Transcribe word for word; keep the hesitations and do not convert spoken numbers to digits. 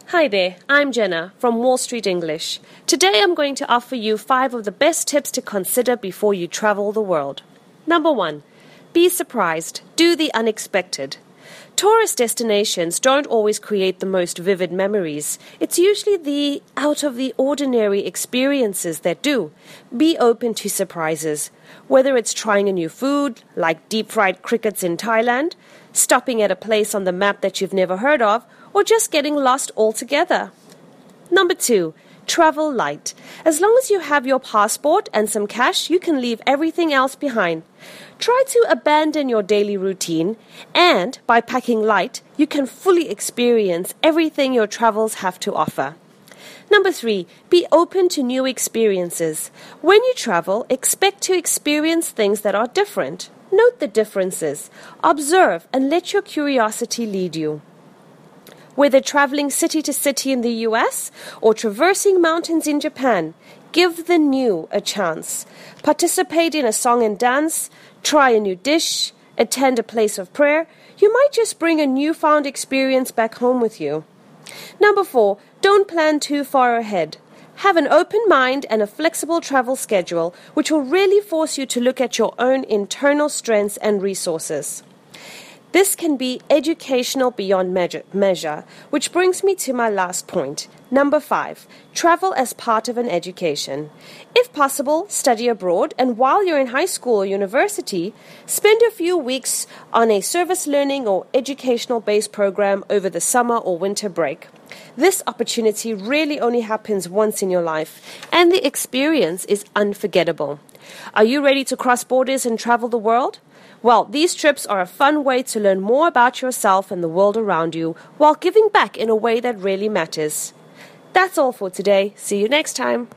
Hi there, I'm Jenna from Wall Street English. Today I'm going to offer you five of the best tips to consider before you travel the world. Number one, be surprised. Do the unexpected. Tourist destinations don't always create the most vivid memories. It's usually the out-of-the-ordinary experiences that do. Be open to surprises. Whether it's trying a new food, like deep-fried crickets in Thailand, stopping at a place on the map that you've never heard of, or just getting lost altogether. Number two, travel light. As long as you have your passport and some cash, you can leave everything else behind. Try to abandon your daily routine, and by packing light, you can fully experience everything your travels have to offer. Number three, be open to new experiences. When you travel, expect to experience things that are different. Note the differences. Observe and let your curiosity lead you. Whether traveling city to city in the U S or traversing mountains in Japan, give the new a chance. Participate in a song and dance, try a new dish, attend a place of prayer. You might just bring a newfound experience back home with you. Number four, don't plan too far ahead. Have an open mind and a flexible travel schedule, which will really force you to look at your own internal strengths and resources. This can be educational beyond measure, measure, which brings me to my last point. Number five, travel as part of an education. If possible, study abroad, and while you're in high school or university, spend a few weeks on a service learning or educational-based program over the summer or winter break. This opportunity really only happens once in your life, and the experience is unforgettable. Are you ready to cross borders and travel the world? Well, these trips are a fun way to learn more about yourself and the world around you while giving back in a way that really matters. That's all for today. See you next time.